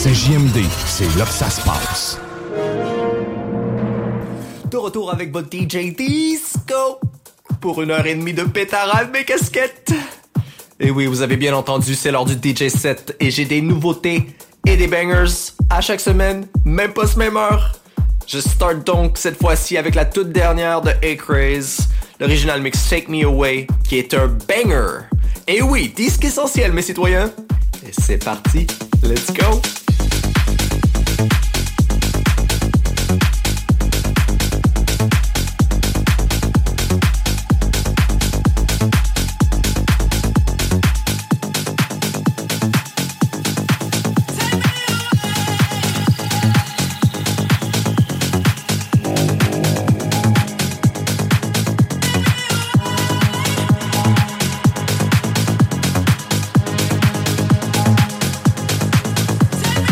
CJMD, c'est là que ça se passe. De retour avec votre DJ Disco pour 1h30 de pétarade mes casquettes. Et oui, vous avez bien entendu, c'est l'heure du DJ set et j'ai des nouveautés et des bangers à chaque semaine, même pas ce même heure. Je start donc cette fois-ci avec la toute dernière de A-Craze, l'original mix Take Me Away, qui est un banger. Et oui, disque essentiel mes citoyens. Et c'est parti, let's go. Take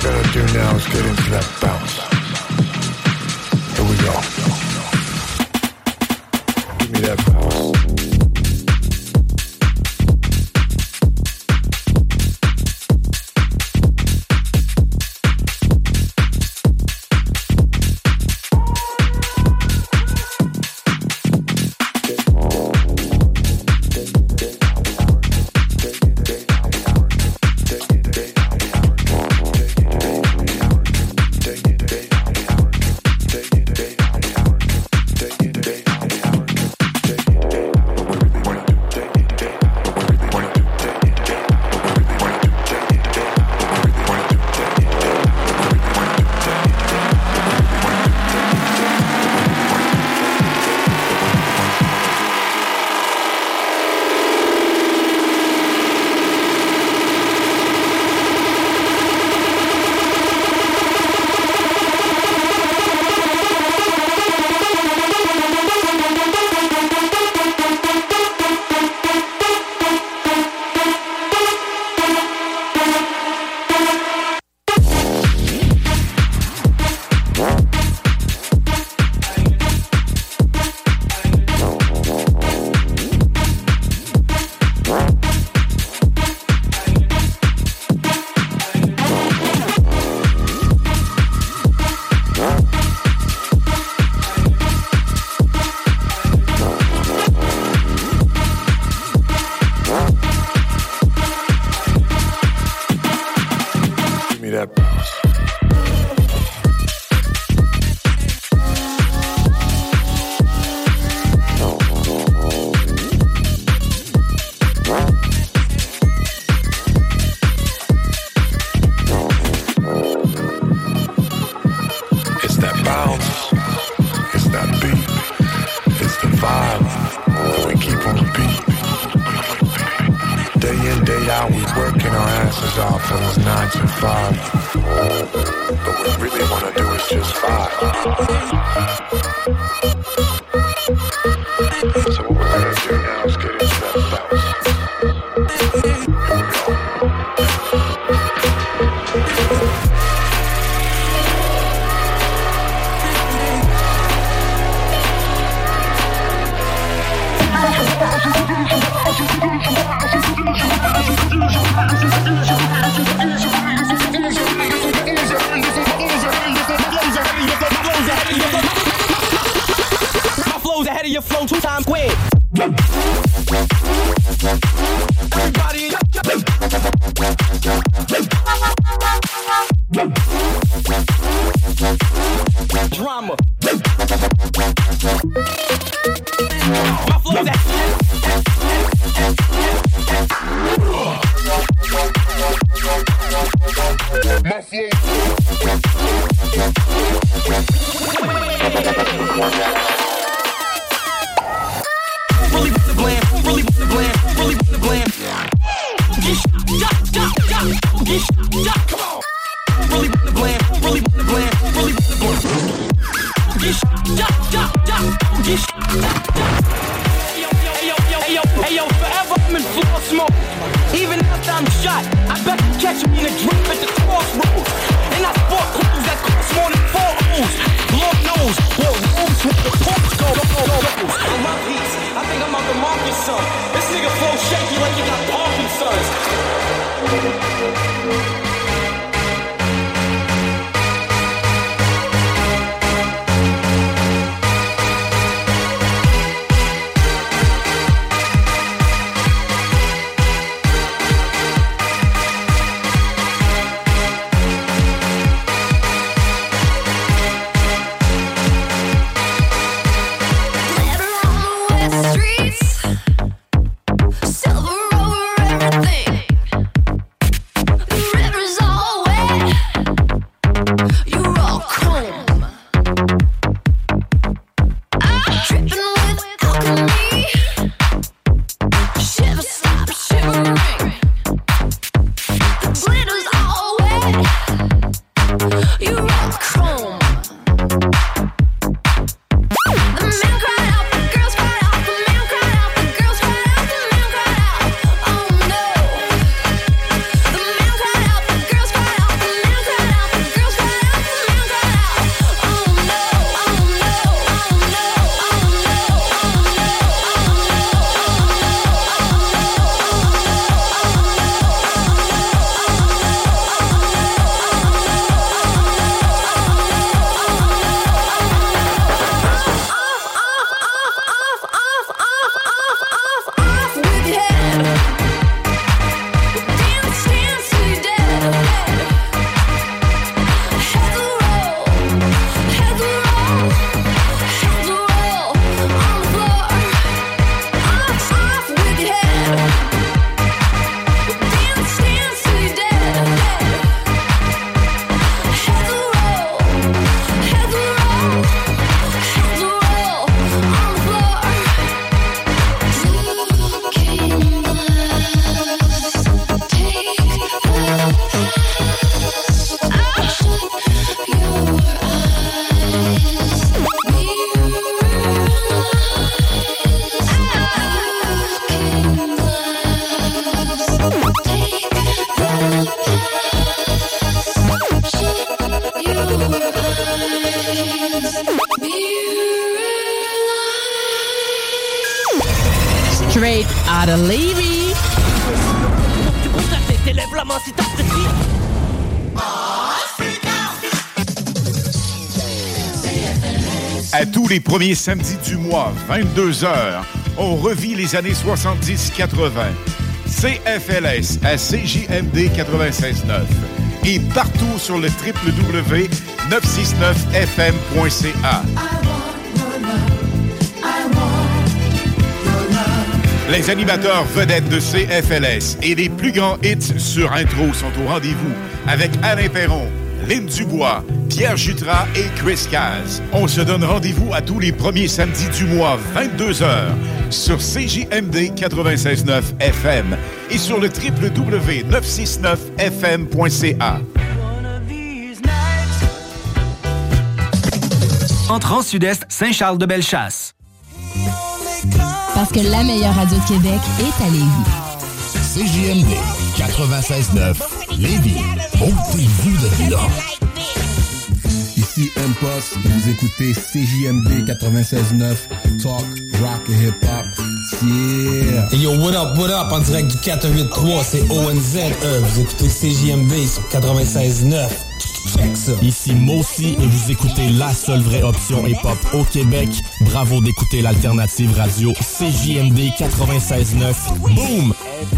gotta do now is get into that bounce. Here we go. Give me that bounce. out of Levy. À tous les premiers samedis du mois, 22h, on revit les années 70-80. CFLS à CJMD 96.9 et partout sur le www.969fm.ca. Les animateurs vedettes de CFLS et les plus grands hits sur intro sont au rendez-vous avec Alain Perron, Lynn Dubois, Pierre Jutras et Chris Caz. On se donne rendez-vous à tous les premiers samedis du mois, 22h, sur CJMD 96.9 FM et sur le www.969fm.ca. Entrant sud-est, Saint-Charles-de-Bellechasse. Parce que la meilleure radio de Québec est à Lévis. CJMD 96.9 Lévis. Ôtez-vous de là. Ici M-Post, vous écoutez CJMD 96.9 Talk, Rock et Hip Hop. Yeah! Hey yo, what up, en direct du 483, c'est ONZE. Vous écoutez CJMD sur 96.9. Check ça. Ici Mossy et vous écoutez la seule vraie option hip-hop au Québec. Bravo d'écouter l'alternative radio CJMD 96.9. Boom!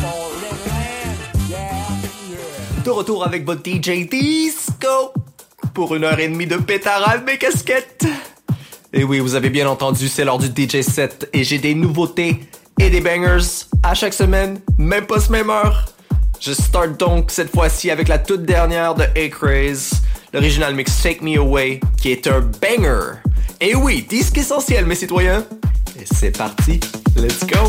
De retour avec votre DJ Disco pour 1h30 de pétarade mes casquettes. Et oui, vous avez bien entendu, c'est l'heure du DJ set et j'ai des nouveautés et des bangers à chaque semaine, même pas ce même heure. Je start donc cette fois-ci avec la toute dernière de A-Craze, l'original mix Take Me Away, qui est un banger. Et oui, disque essentiel mes citoyens. Et c'est parti, let's go.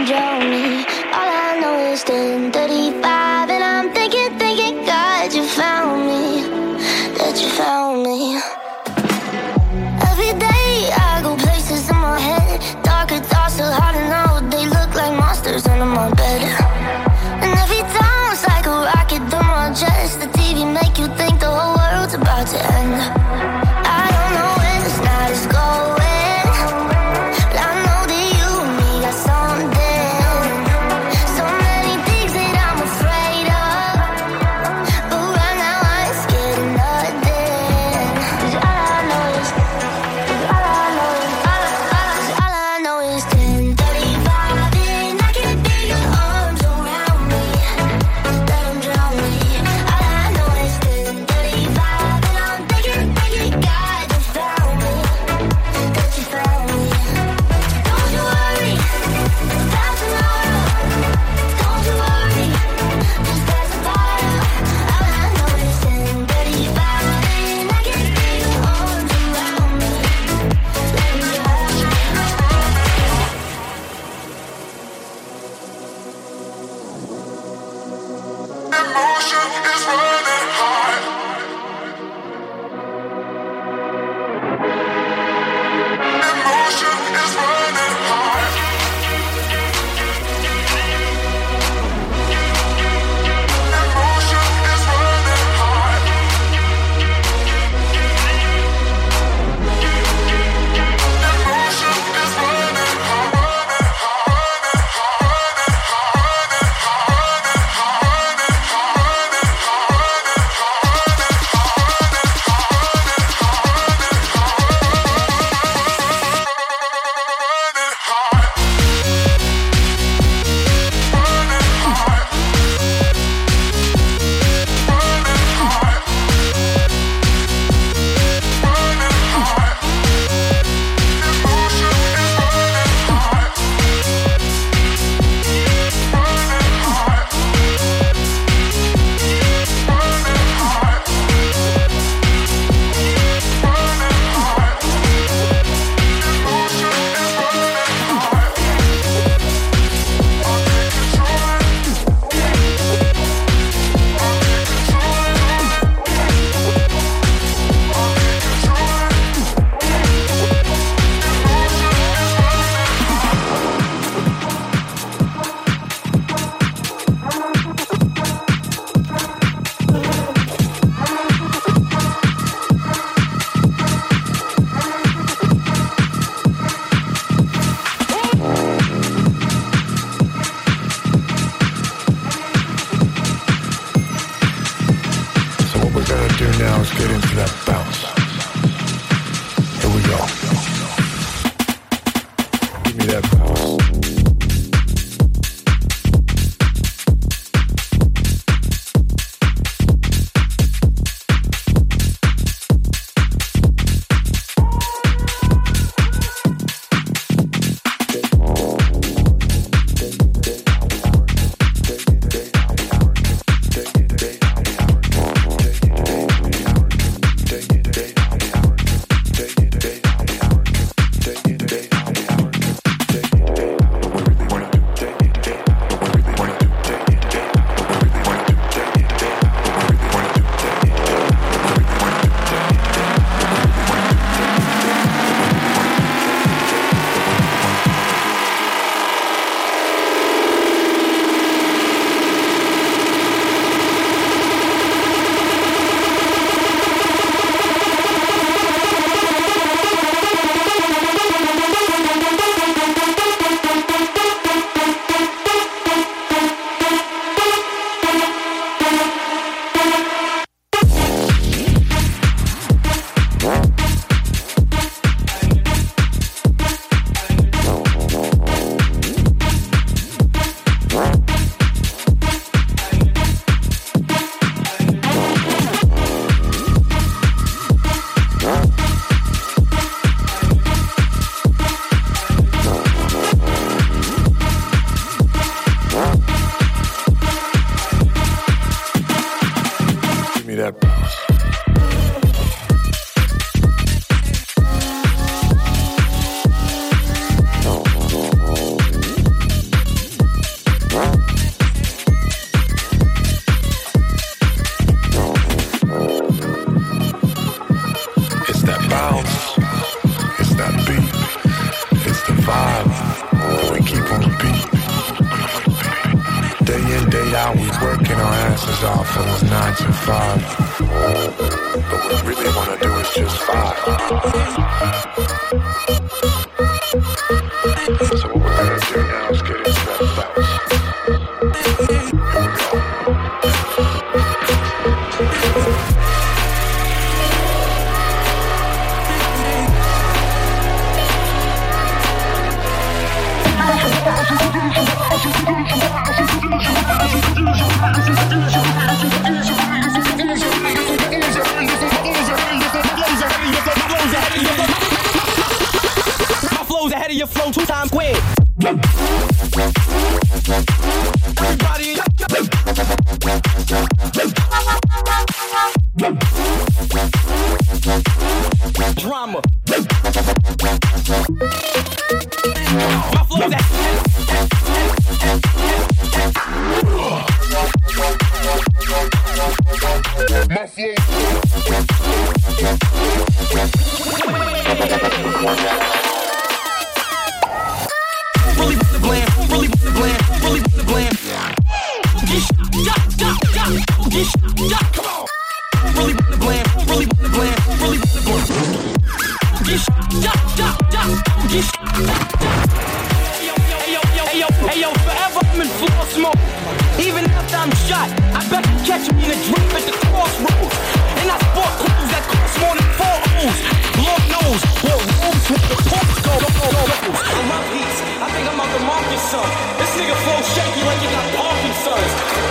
drown me. All I know is 10:35, and I'm thinking, God, you found me, that you found me. Every day I go places in my head, darker thoughts are hard to know. They look like monsters under my bed, and every time it's like a rocket through my chest. The TV make you think the whole world's about to end. I don't know where this night is going, but I know that you and me got something. So many things that I'm afraid of, but right now I ain't scared of nothing. 'Cause all I know is 10:35, and I can feel your arms around me. Let 'em drown me. All I know is 10:35, and I'm thinking, God, you found me, that you found me. Don't you worry about tomorrow. Don't you worry, just pass the bottle. All I know is 10:35, and I can feel your arms around me. Let 'em drown me. Emotion is running high. Emotion is running high. Emotion is running high. Emotion is running high. working our asses off for those 9 to 5. But what we really wanna do is just vibe. So what we're gonna do now is get into that bounce. Here we go. My flow's ahead of your flow 2 times quick. Everybody drama. My flow's ahead. My flow. Really with the glam, really with the glam, really with the glam. Come on. Really with the glam, really with the glam, really with the glam. Hey yo, forever I'm in floor smoke. Even after I'm shot, I bet you catch me in a dream at the crossroads. And I sport clothes that cost more than 4 O's. Lord knows what rooms with the pumps go. In my piece, I think I'm Uncle Marcus' son. This nigga flow shaky like he got Parkinson's.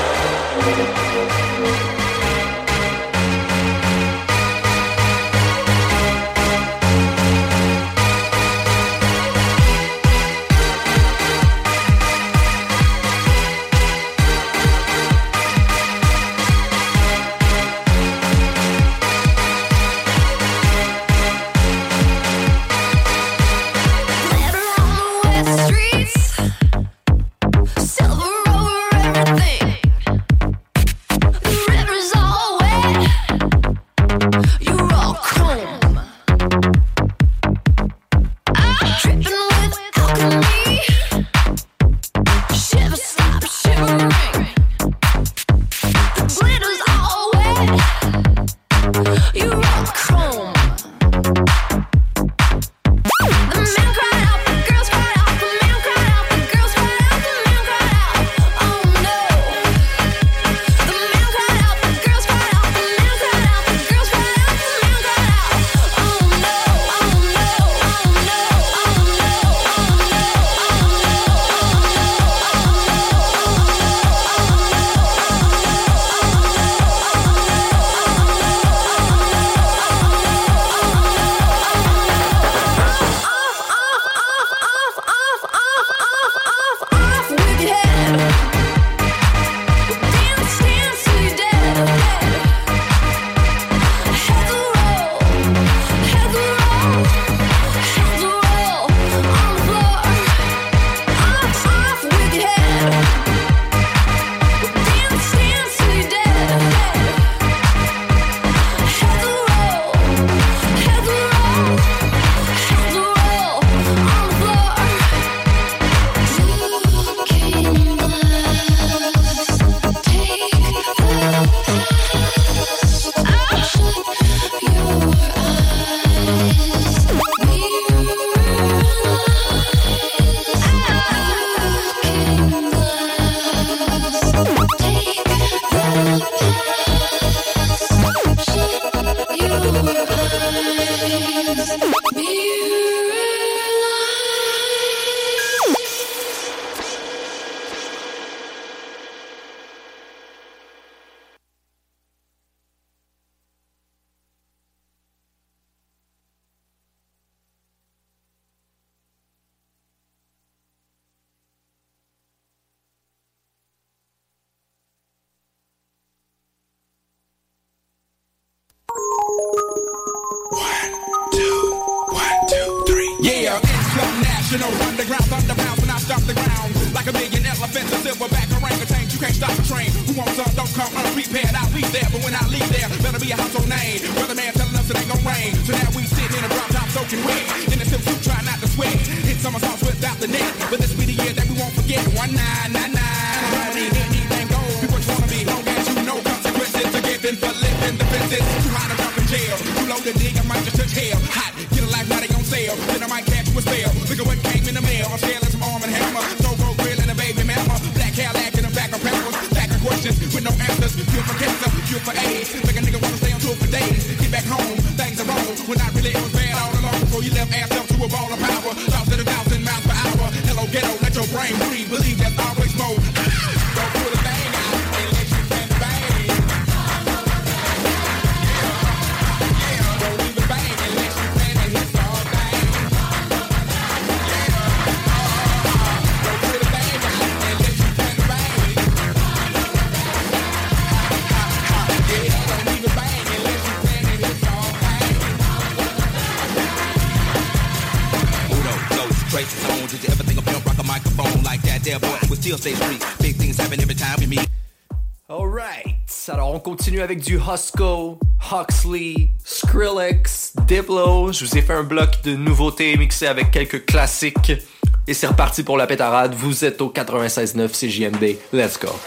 Underground, thunderbound when I stop the ground. Like a million elephants, a silverback orangutan. You can't stop the train. Who wants some? Don't come unprepared. I'll be there, but when I leave there, better be a household name. Weatherman telling us it ain't gon' rain. So now we sitting in a drop top soaking wet. In a silk suit, try not to sweat. Hit somersaults without the net. But this be the year that we won't forget. 1999. Don't need anything gold. Be what you wanna be. hell. Hot, get a life, now they on sale. Then I might catch you a spell. Look at what came in the mail. I'm scaling some arm and hammer. Throw grill and a baby mama. Black Cadillac in the back of pampers. Back of questions with no answers. Cure for cancer, cure for AIDS. Make a nigga wanna stay on tour for days. Get back home, things are wrong. When I really it was bad all along. Before you left ass up to a ball of power. Lost at 1,000 miles per hour. Hello ghetto, let your brain breathe. Believe there's always more. Don't pull a thing out and let you can bang. Don't leave it bang and let you can and hit all thing. Don't pull a thing out and let you can bang. Don't leave it bang and let you can and hit all thing. Hold on, close, traces on. Did you ever think of rock a microphone like that? There, boy, we still stay free. Big things happen every time we meet. Alright, alors on continue avec du Husko, Huxley, Skrillex, Diplo. Je vous ai fait un bloc de nouveautés mixées avec quelques classiques. Et c'est reparti pour la pétarade. Vous êtes au 96.9 CJMD. Let's go.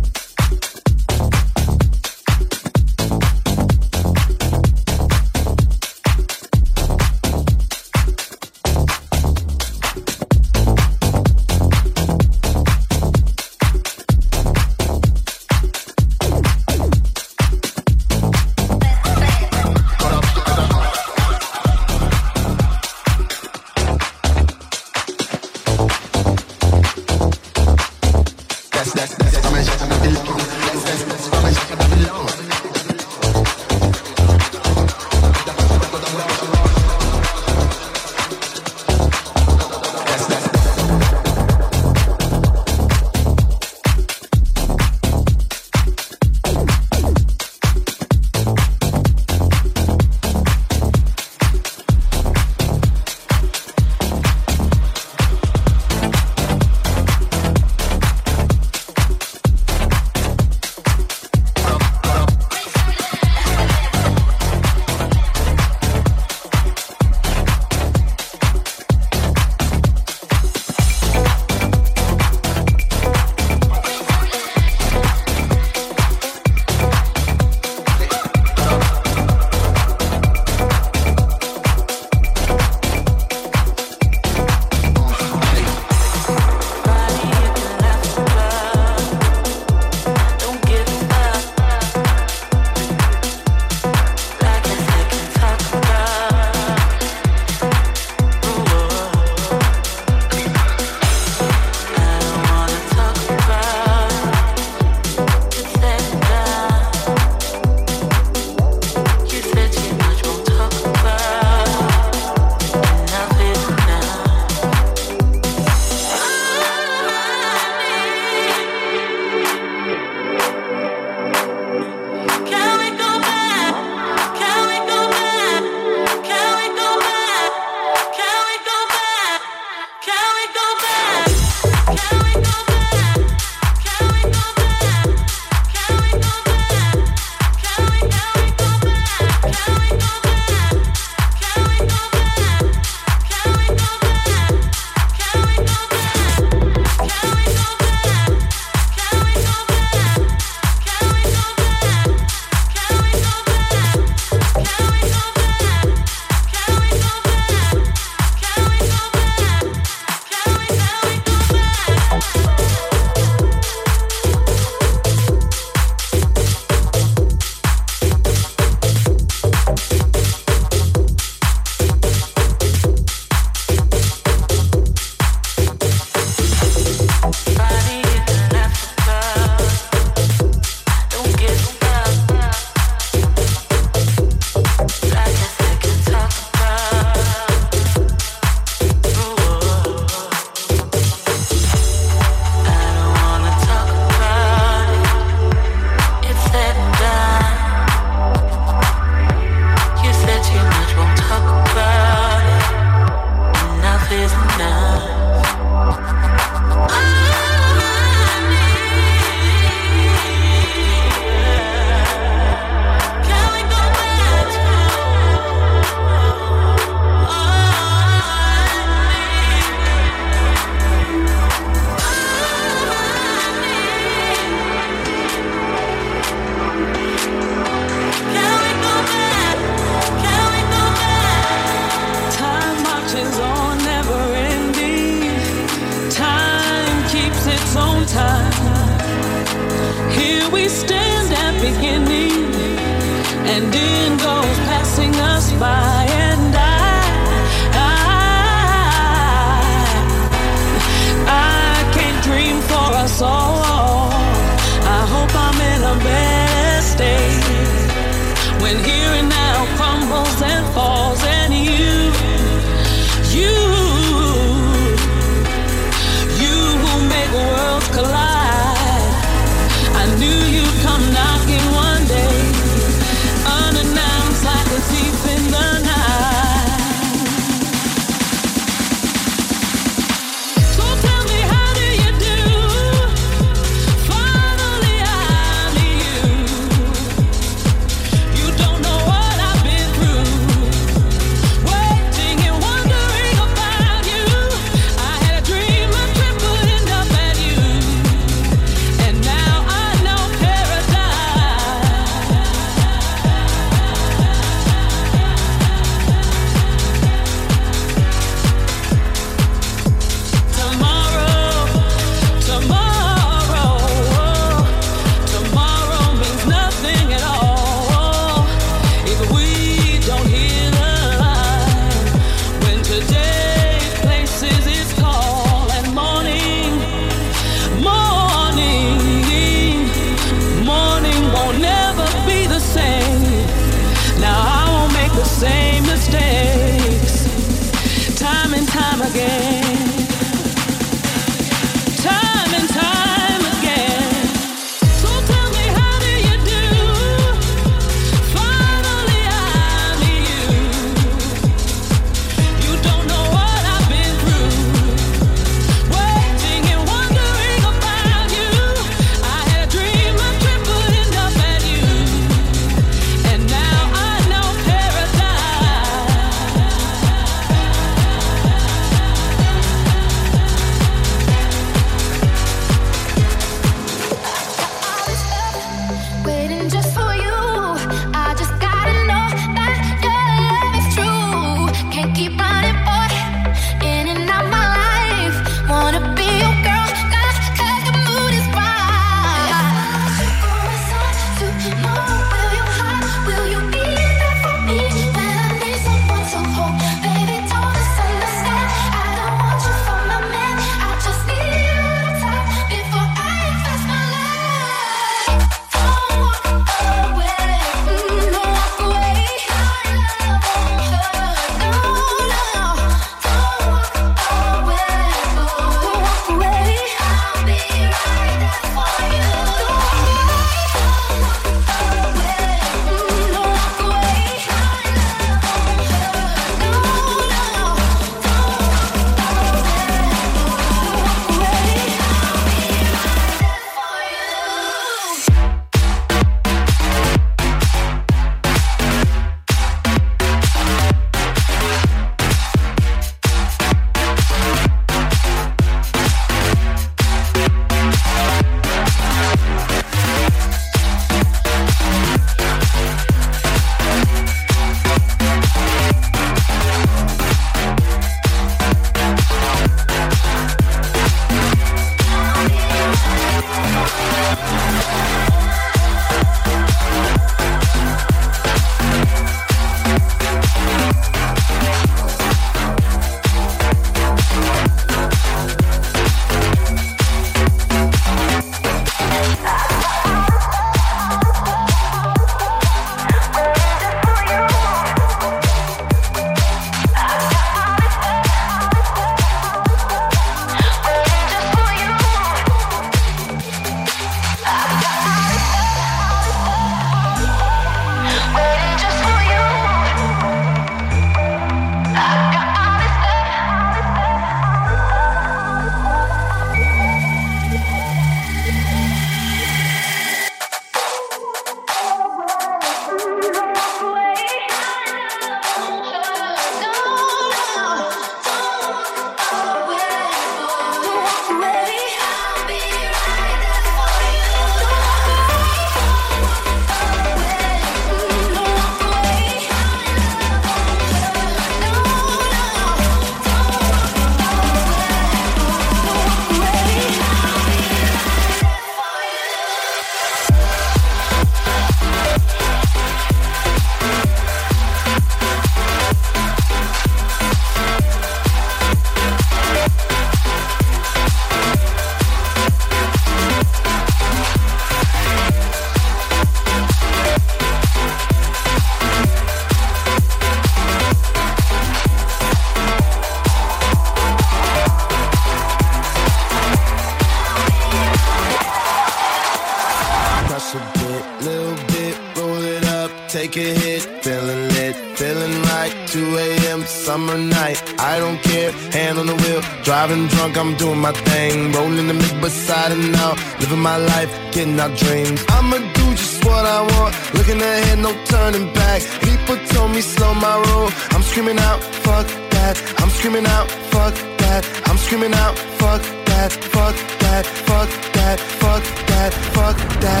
2 a.m. summer night, I don't care, hand on the wheel, driving drunk, I'm doing my thing, rolling the mid beside and out, living my life, getting our dreams. I'ma do just what I want, looking ahead, no turning back. People told me slow my roll, I'm screaming out, fuck that. I'm screaming out, fuck that. I'm screaming out, fuck that, fuck that, fuck that, fuck that, fuck that.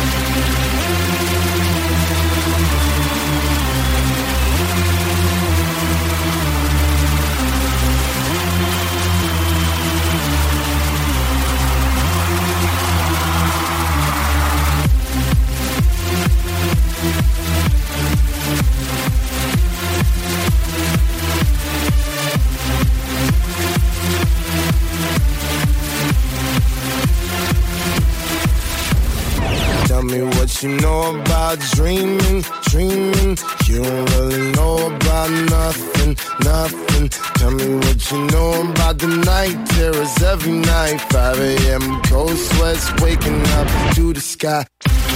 Tell me what you know about dreaming, dreaming. You don't really know about nothing, nothing. Tell me what you know about the night terrors every night. 5 a.m. cold sweats waking up to the sky.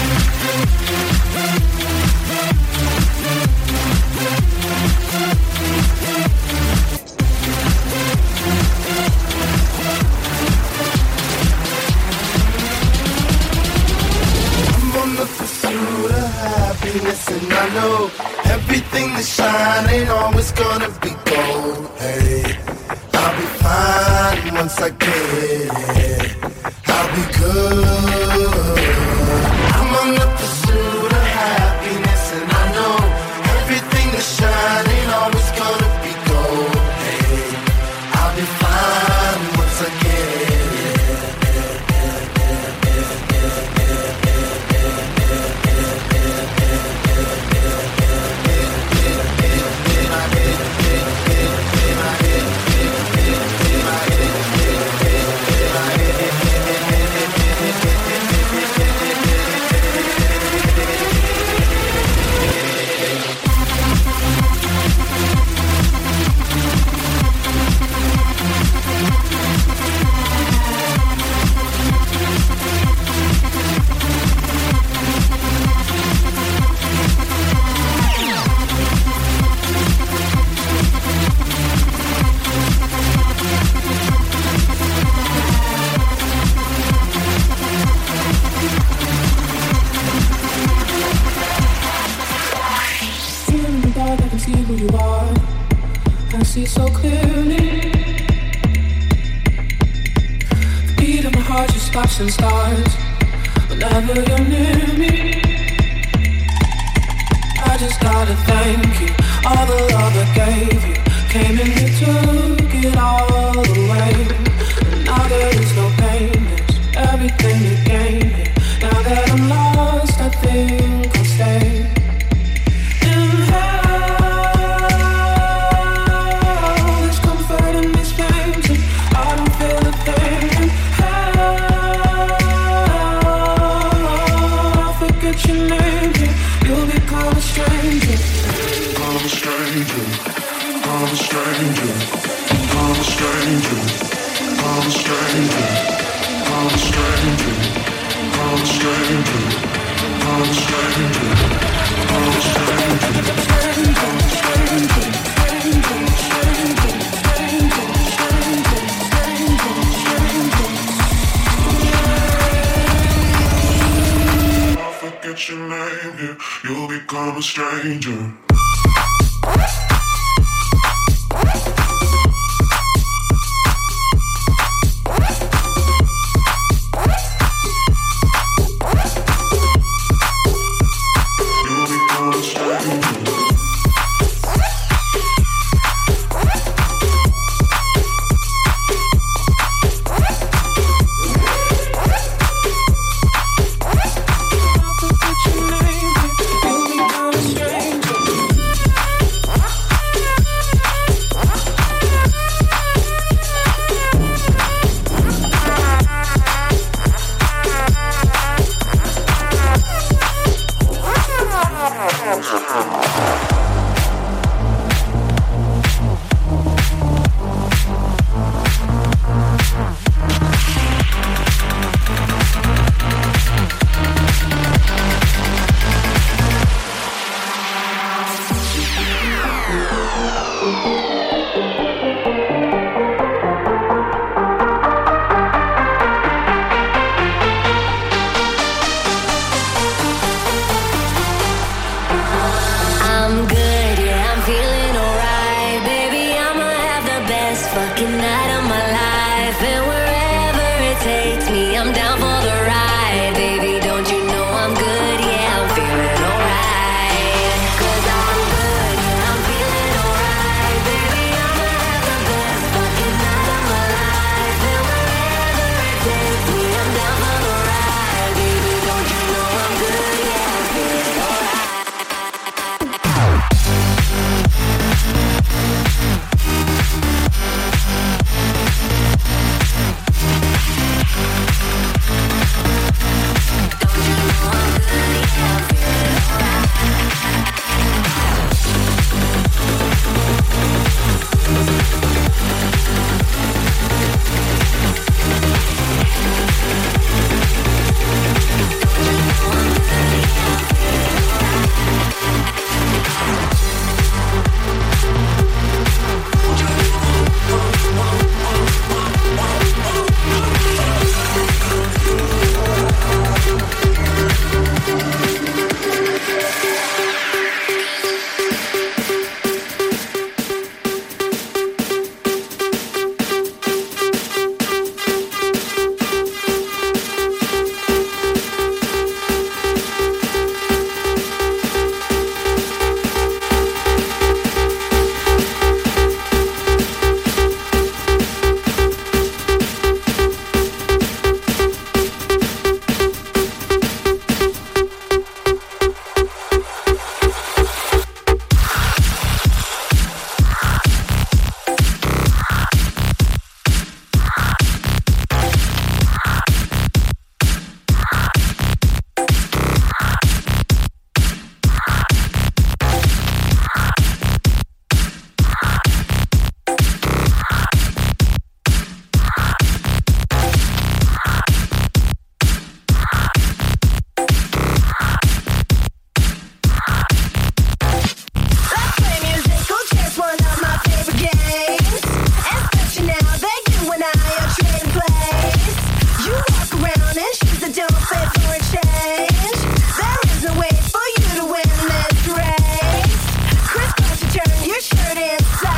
And I know everything that shine ain't always gonna be gold. Hey, I'll be fine once I get it. I'll be good. I'm on the pursuit of happiness, and I know everything that shine ain't always gonna be gold. Hey, I'll be fine once I get it. Who you are, I see so clearly. The beat of my heart just stops and starts whenever you're near me. I just gotta thank you, all the love I gave you. Came in and took it all away. And now there is no pain, there's everything to gain. Now that I'm lost, I think I'll stay. Forget your name, you'll become a stranger. You'll become a stranger. Inside.